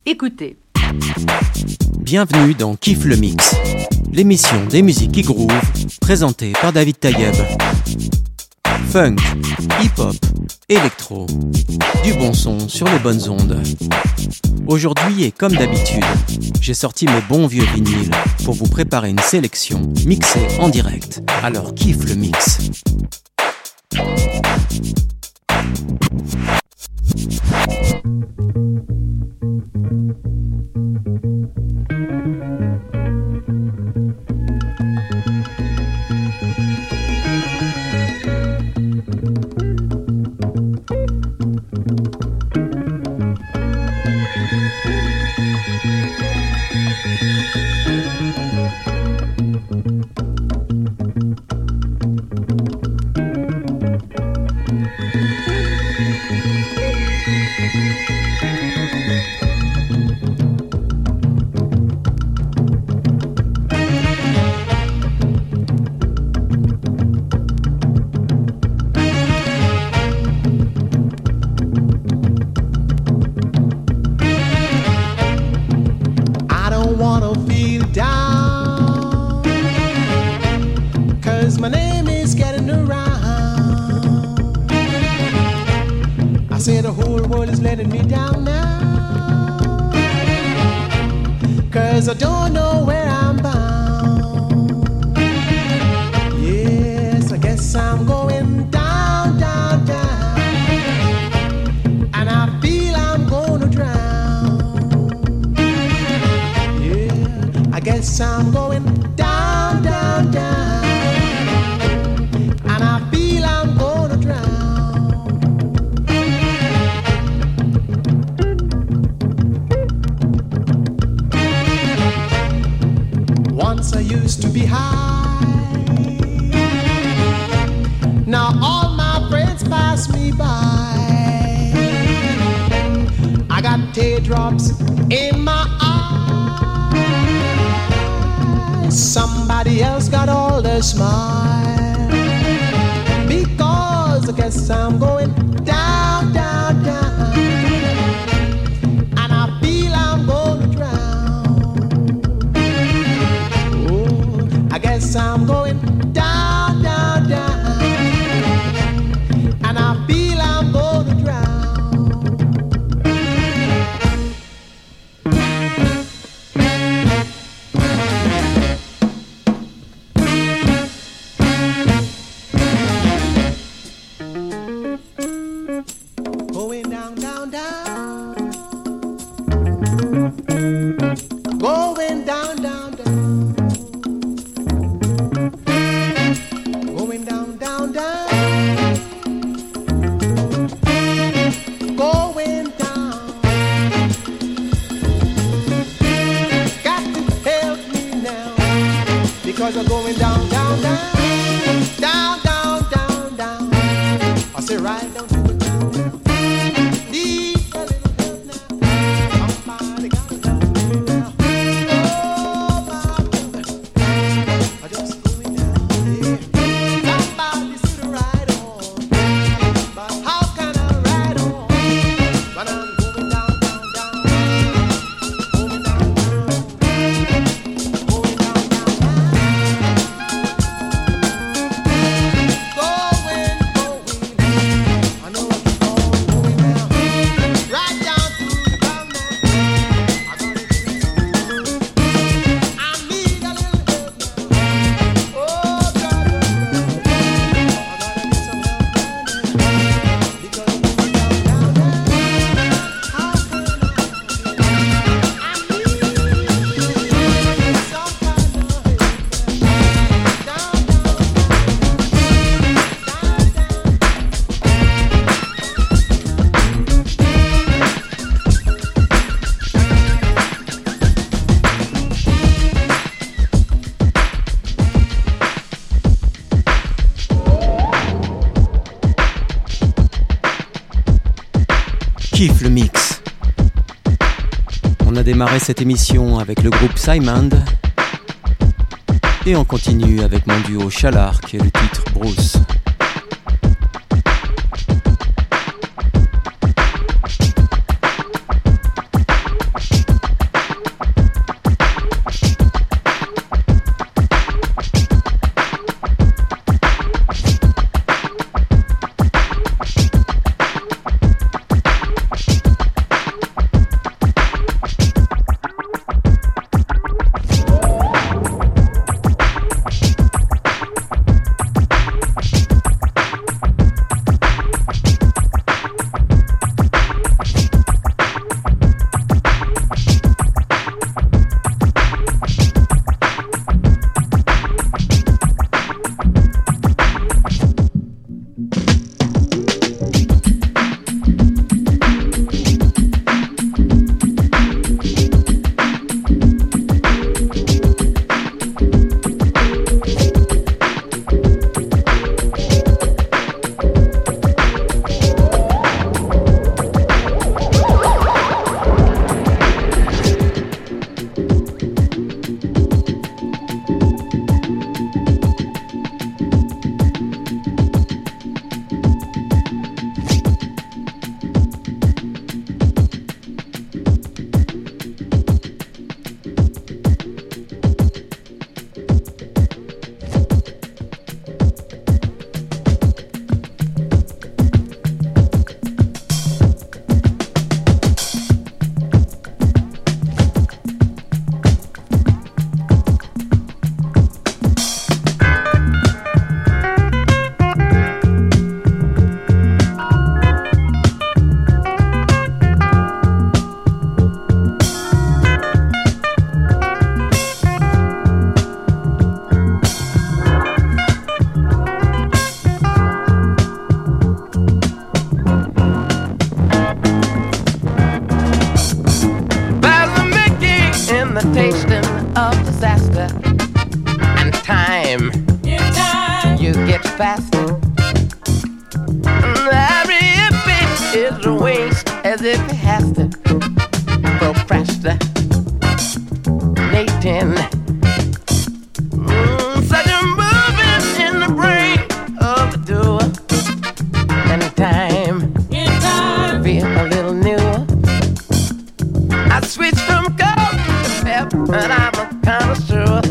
Écoutez. Bienvenue dans Kiffe le Mix, l'émission des musiques qui groove, présentée par David Tayeb. Funk, hip-hop, électro, du bon son sur les bonnes ondes. Aujourd'hui et comme d'habitude, j'ai sorti mes bons vieux vinyles pour vous préparer une sélection mixée en direct. Alors kiffe le mix. I don't know where I'm bound. Yes, I guess I'm going down, down, down. And I feel I'm gonna drown. Yeah, I guess I'm going down, down, down. And I feel I'm gonna drown. Once I used to be high. Now all my friends pass me by. I got teardrops in my eyes. Somebody else got all the smile. Because I guess I'm going down, down, down. And I feel I'm gonna drown. I guess I'm going down, down, down. And I feel I'm gonna drown. Going down, down, down. Going down, down, down. Going down, down, down. Going down. Got to help me now. Because I'm going down, down, down. Down, down, down, down. I say right down to the ground. Need a little help now. Somebody gotta help me now. Oh, my goodness. I just going down here. Somebody should ride on. But how can I ride on when I'm going down, down, down? Going down, down. Going down, down, down. Going, going. I know I keep on going down. Right down to the ground now. I gotta do it. I need a little help now. Oh, God, I gotta get some help now. Because I'm going down, down, down. How can I need some kind of help down, down, Kiffe le mix. On a démarré cette émission avec le groupe Simon et on continue avec mon duo Chalark et le titre Bruce. faster. Every bit is a waste as if it has to procrastinating. Such a movement in the brain of the doer. And time, feel a little newer. I switch from gold to pep, and I'm a connoisseur.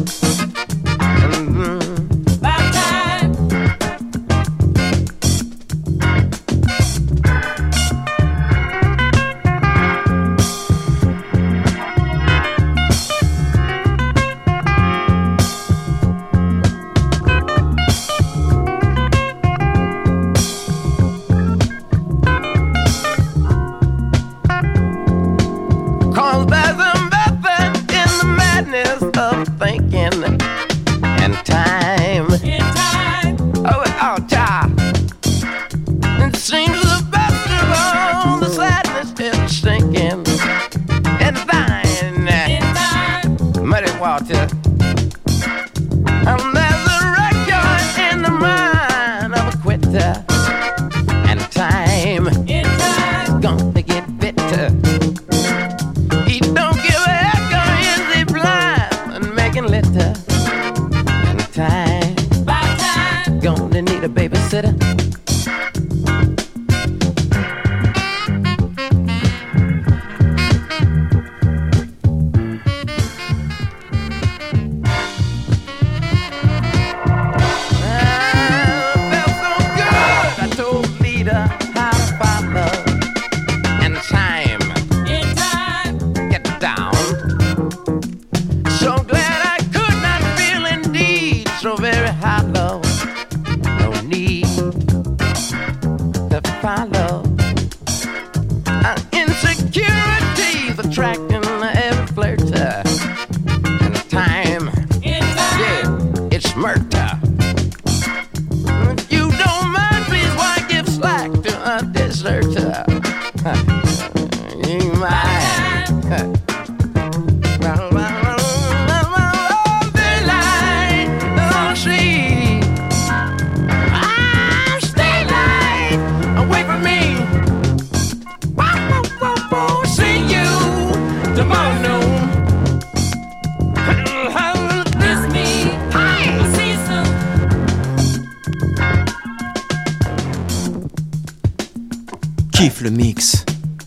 Kiffe le mix.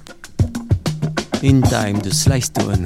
In Time de Sly Stone.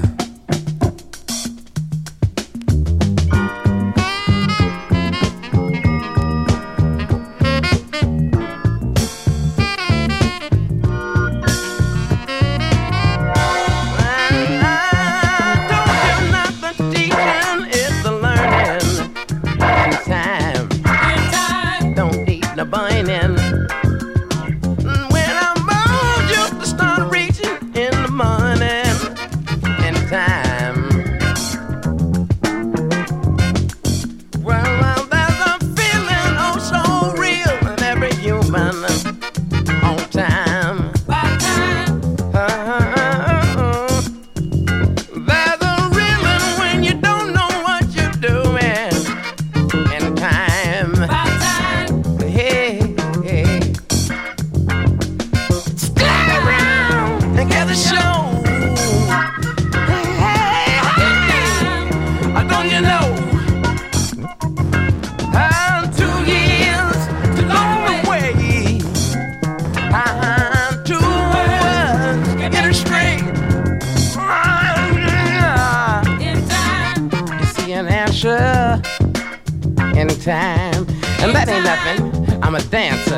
Time, and that ain't nothing. I'm a dancer.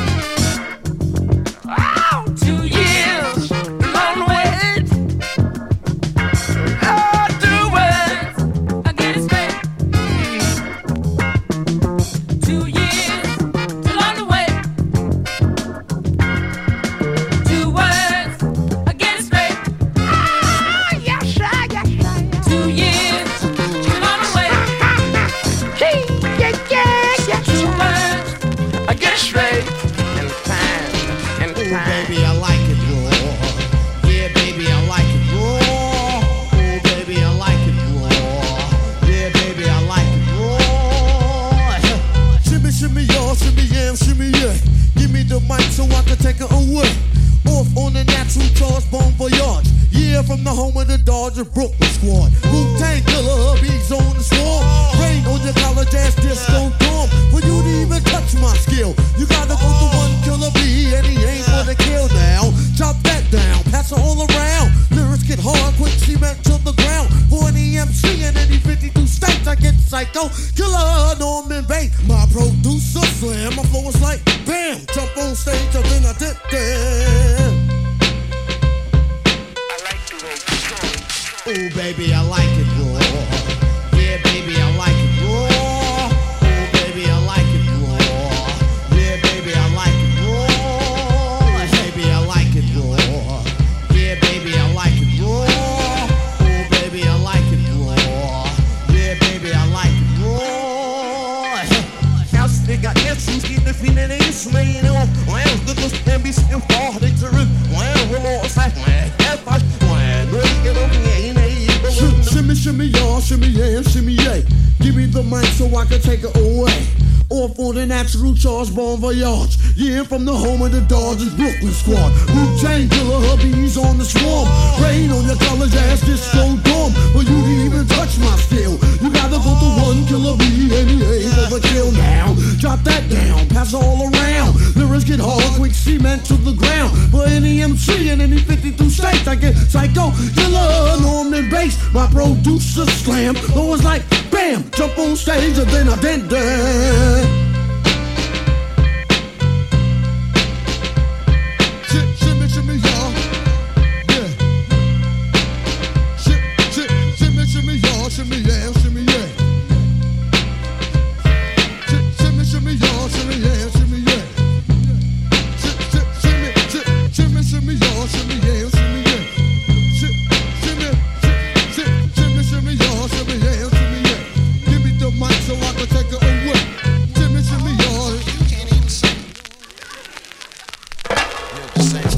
Oh, 2 years, long wait. Oh, 2 words, I get it straight. 2 years, too long to wait. 2 words, I get it straight. Ah, yes, sir, yes, sir. 2 years, too long to wait. I get it straight. take her away. Off on the natural charge, Bon Voyage. Yeah, from the home of the Dodger Brooklyn squad. Wu-Tang Killer, hubby's on the swarm. Rain on your college ass disco dorm. For you to even touch my skill, you gotta go to one killer B, and he ain't gonna kill now. Chop that down, pass it all around. Lyrics get hard, quick cement to the ground. For any MC in any 52 states, I get psycho. Killer, Norman Bates, my producer slam. My flow is like bam, jump on stage, and then I did that. Oh baby, I like it raw. Yeah, baby, I like it raw. Oh baby, I like it raw. Yeah, baby, I like it raw. Baby, I like it raw. Yeah, baby, I like it raw. Oh baby, I like it raw. Yeah, baby, I like it raw. House nigga, answers get the feeling they slaying off. Wow, good looks can be still far. They turn. Wow, we're all side. Wow, shimmy, shimmy, y'all, shimmy, yeah, shimmy, yeah. Give me the mic so I can take it away. Off on the natural charge, Bon Voyage. Yeah, from the home of the Dodgers Brooklyn squad. Wu-Tang Killer, hubby's on the swarm. Rain on your college ass, disco dorm. For you to even touch my skill, you gotta go to one killer B, and he ain't overkill now. Drop that down, pass all around. Lyrics get hard, quick cement to the ground. For any MC in any 52 states, I get psycho, killer, Norman Bates. My producer slam, though it's like bam, jump on stage and then I did that. Shimmy, shimmy, y'all, yeah. Shimmy, shimmy, y'all, shimmy, yeah, shimmy, yeah. Shimmy, shimmy, y'all, shimmy, yeah, shimmy, yeah. Shimmy, shimmy, y'all, shimmy, yeah, shimmy, yeah. Shimmy, y'all, shimmy, yeah, shimmy, yeah. Give me the mic so I can take it away. Shimmy, y'all. You can't even sing. You're just saying.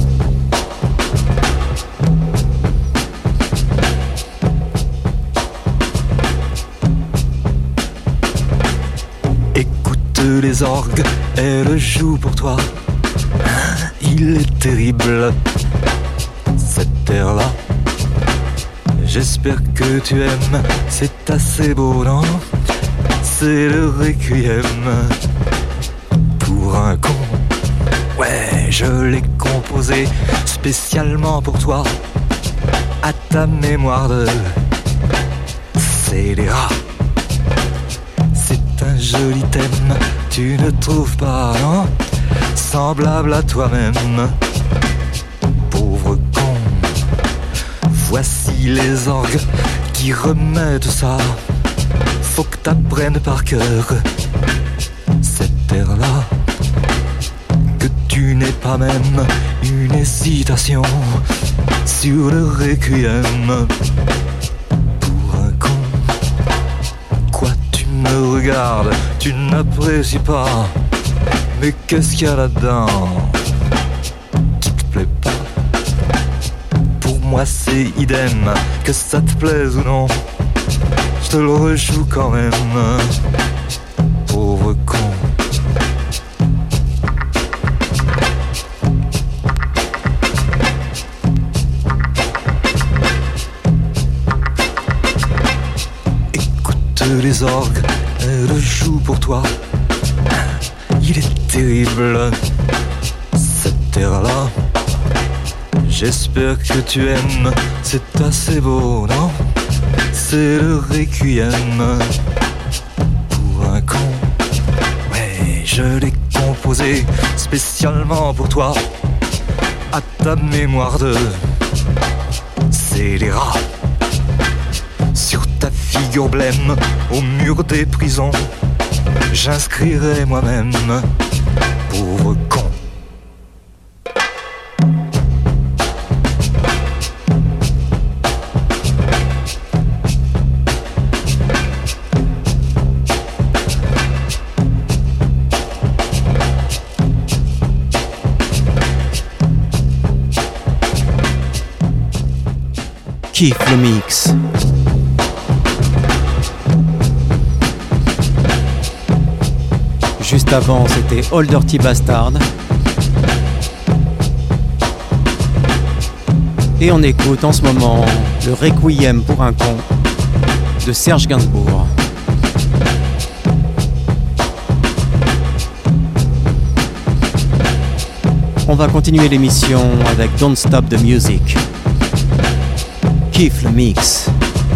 Écoute les orgues, elles jouent pour toi. Il est terrible, cette terre-là. J'espère que tu aimes, c'est assez beau, non? C'est le requiem pour un con. Ouais, je l'ai composé spécialement pour toi, à ta mémoire de scélérat. C'est un joli thème, tu ne trouves pas, non? Semblable à toi-même, pauvre con. Voici les orgues qui remettent ça. Faut que t'apprennes par cœur cette terre-là, que tu n'aies pas même une hésitation sur le requiem pour un con. Quoi, tu me regardes, tu n'apprécies pas, mais qu'est-ce qu'il y a là-dedans qui te plaît pas? Pour moi c'est idem, que ça te plaise ou non, je te le rejoue quand même, pauvre con. Écoute les orgues, elles jouent pour toi. Il est terrible, cette terre-là. J'espère que tu aimes, c'est assez beau, non? C'est le requiem pour un con. Ouais, je l'ai composé spécialement pour toi, à ta mémoire de scélérat. Sur ta figure blême, au mur des prisons, j'inscrirai moi-même, pauvre con. Kiffe le mix. Juste avant, c'était Old Dirty Bastard. Et on écoute en ce moment le Requiem pour un con de Serge Gainsbourg. On va continuer l'émission avec Don't Stop the Music. Kiffe le mix.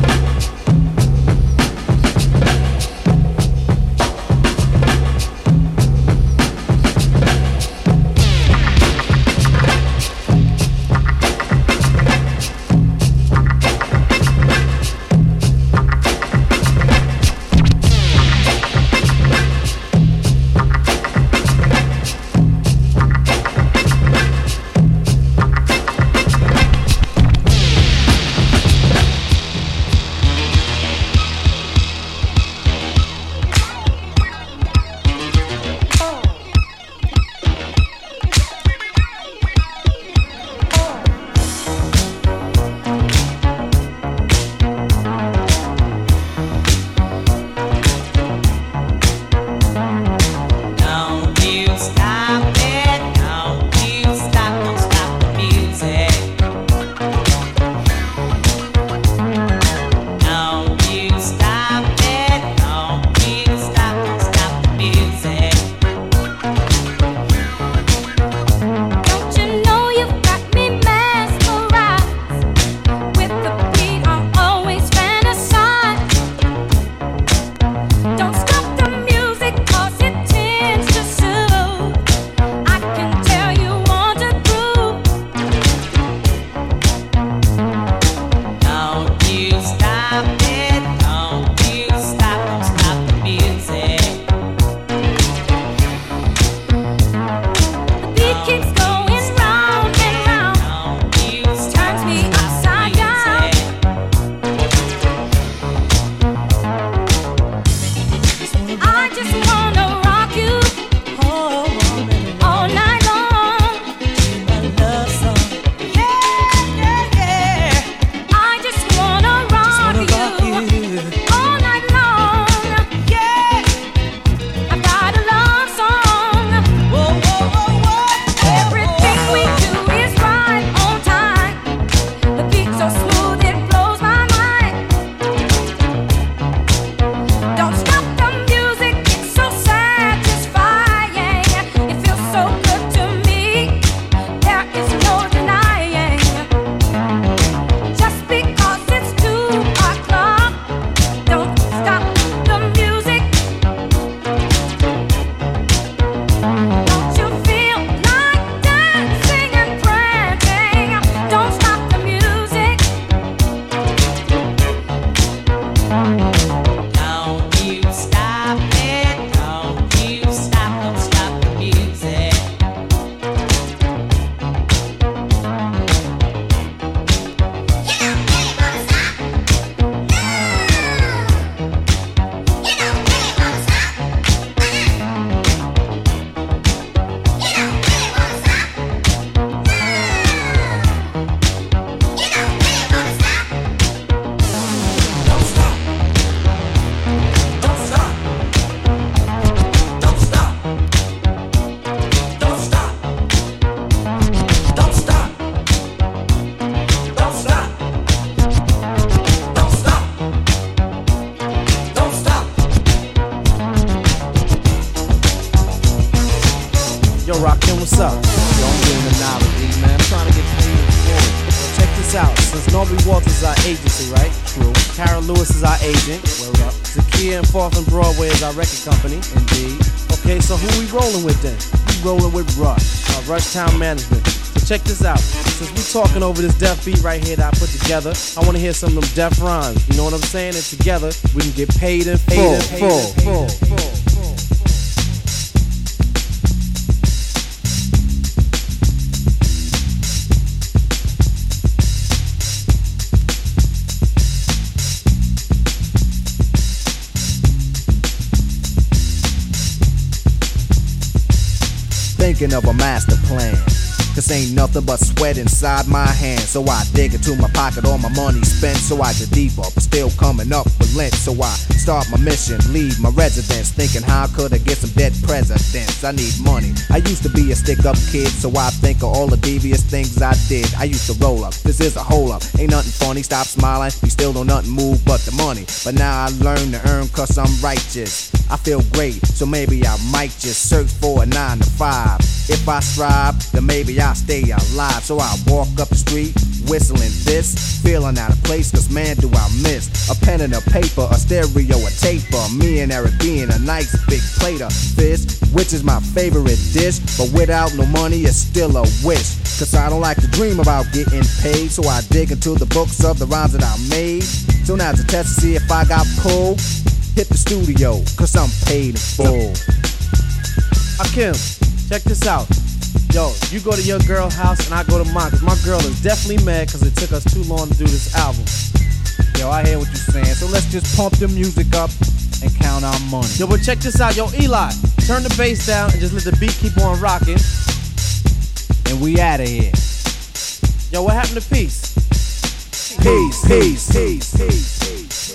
what's up? Yo, I'm doing the knowledge, man. I'm trying to get paid forward. Check this out. Since Norby Walters is our agency, right? True. Karen Lewis is our agent. Word up. Zakia and 4th and Broadway is our record company. Indeed. Okay, so who we rolling with then? We rolling with Rush, Rush Town Management. So check this out. Since we talking over this deaf beat right here that I put together, I want to hear some of them deaf rhymes. You know what I'm saying? And together, we can get paid in full. Thinking of a master plan. Cause ain't nothing but sweat inside my hands. So I dig into my pocket, all my money spent. So I get deeper, but still coming up with lint. So I start my mission, leave my residence, thinking how could I get some dead presidents. I need money. I used to be a stick-up kid, so I think of all the devious things I did. I used to roll up, this is a hole up. Ain't nothing funny, stop smiling. We still don't nothing move but the money. But now I learn to earn cause I'm righteous. I feel great, so maybe I might just search for a 9 to 5. If I strive, then maybe I'll stay alive. So I walk up the street, whistling this, feeling out of place, cause man do I miss a pen and a paper, a stereo, a taper. Me and Eric being a nice big plate of fish, which is my favorite dish. But without no money, it's still a wish. Cause I don't like to dream about getting paid, so I dig into the books of the rhymes that I made. So now to test to see if I got pulled, hit the studio, cause I'm paid in full. Akim, check this out. Yo, you go to your girl house and I go to mine, cause my girl is definitely mad cause it took us too long to do this album. Yo, I hear what you're saying, so let's just pump the music up and count our money. Yo, but check this out. Yo, Eli, turn the bass down and just let the beat keep on rocking. And we outta here. Yo, what happened to peace? Peace, peace, peace, peace, peace.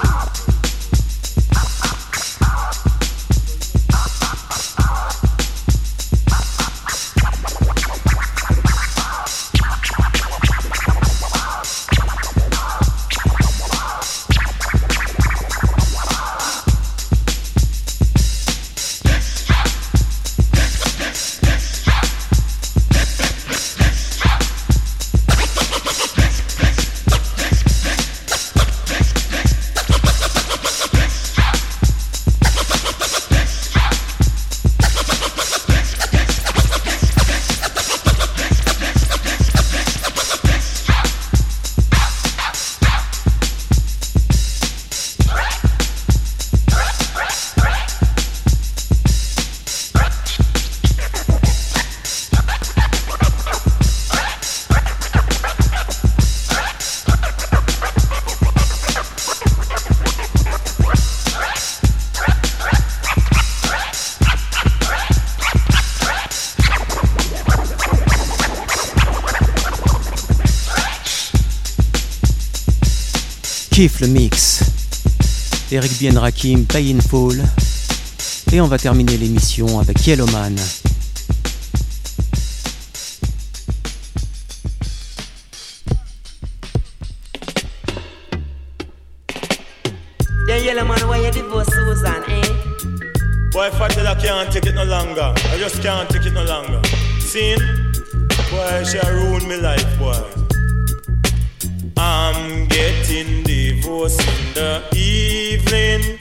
Kiffe le mix. Eric Bien Rakim, Pay in Full. Et on va terminer l'émission avec Yellowman. Yeah, Yellowman, why you divorce Susan, eh? Boy, if I tell I can't take it no longer, I just can't take it no longer. Seen? Boy, she ruined my life, boy. I'm getting divorced in the evening.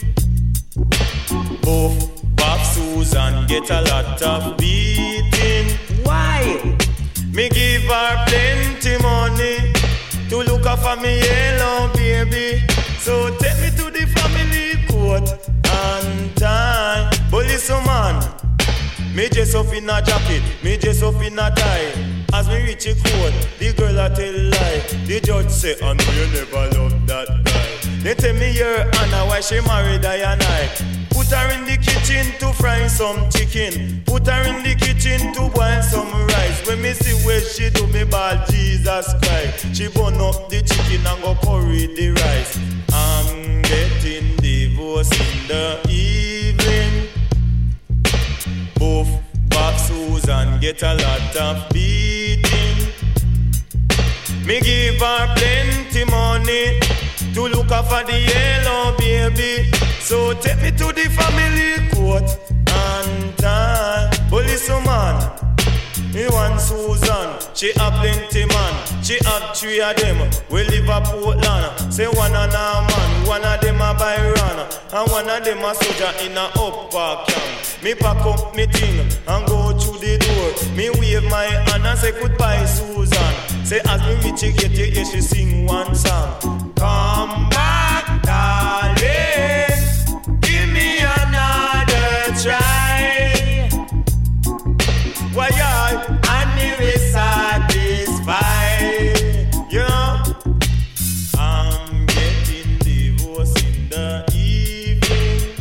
Both Bob Susan get a lot of beating. Why? Me give her plenty money to look after me yellow baby. So take me to the family court and time. But listen man, me dress up in a jacket, me dress up in a tie. As me reach a court, the girl a tell lie. The judge say, I know you never loved that guy. They tell me her Anna why she married I and I. Put her in the kitchen to fry some chicken. Put her in the kitchen to boil some rice. When me see where she do me ball, Jesus Christ. She burn up the chicken and go curry the rice. I'm getting divorced in the evening. Both Bob Susan get a lot of beating. Me give her plenty money to look after the yellow baby. So take me to the family court and time. But listen man, me want Susan, she have plenty man. She have 3 of them, we live a Portland. Say one of them man, one of them a Byron, and one of them a soldier in a upper camp. Me pack up me thing and go through the door. Me wave my hand and say goodbye Susan. Say as me reach you get you hear she sing one song. Come back darling, give me another try. Why and me will satisfy. Yeah, I'm getting divorced in the evening.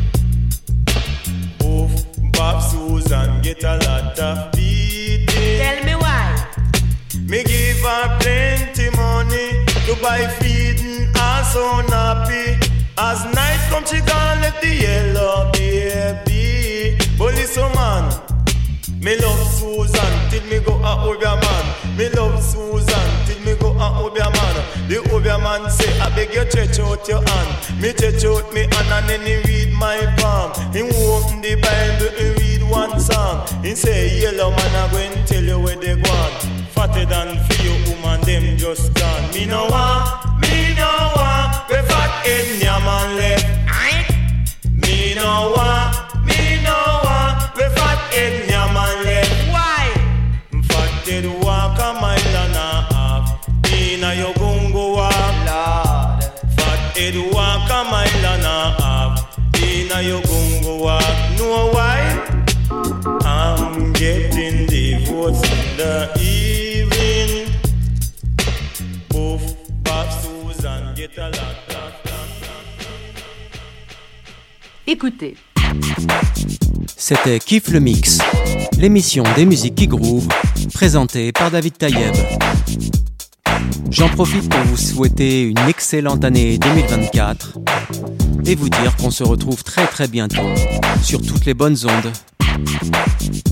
Both Bob Susan get a lot of beating. Tell me why. As night come, she gone left the yellow baby. But listen, man, me love Susan till me go a Obia man. Me love Susan till me go a Obia man. The Obia man say, I beg you stretch out your hand. Me stretch out me hand and then he read my palm. He open the Bible, he read one song. He say, yellow man, I go and tell you where they gone. Fatter than for you, woman, them just gone. Me no want, we fat head yam and left. Me no want, we fat head yam and left. Why? Fat head walk a mile and a half. Inna your gungo walk, Lord. Fat head walk a mile and a half. Inna your gungo walk. Know why? I'm getting divorced in the evening. Both Bob Susan get a lot. Écoutez. C'était Kiff le Mix, l'émission des musiques qui groove, présentée par David Tayeb. J'en profite pour vous souhaiter une excellente année 2024 et vous dire qu'on se retrouve très très bientôt sur toutes les bonnes ondes.